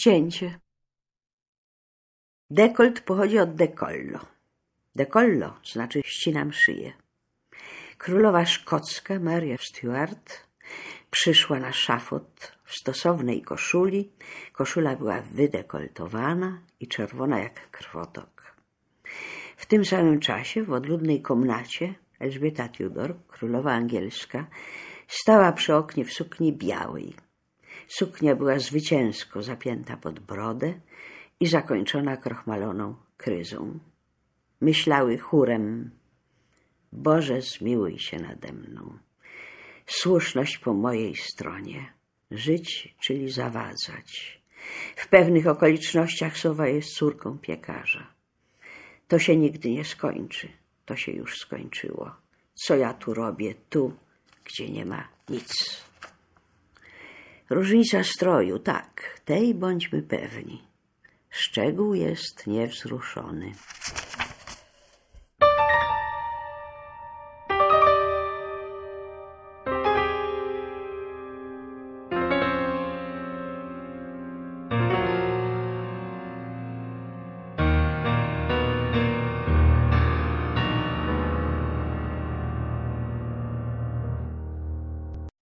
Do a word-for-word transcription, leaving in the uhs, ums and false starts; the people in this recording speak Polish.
Ścięcie. Dekolt pochodzi od decollo. Decollo znaczy ścinam szyję. Królowa szkocka Maria Stuart przyszła na szafot w stosownej koszuli. Koszula była wydekoltowana i czerwona jak krwotok. W tym samym czasie w odludnej komnacie Elżbieta Tudor, królowa angielska, stała przy oknie w sukni białej. Suknia była zwycięsko zapięta pod brodę i zakończona krochmaloną kryzą. Myślały chórem: Boże, zmiłuj się nade mną. Słuszność po mojej stronie. Żyć, czyli zawadzać. W pewnych okolicznościach sowa jest córką piekarza. To się nigdy nie skończy. To się już skończyło. Co ja tu robię? Tu, gdzie nie ma nic. Różnica stroju, tak, tej bądźmy pewni. Szczegół jest niewzruszony.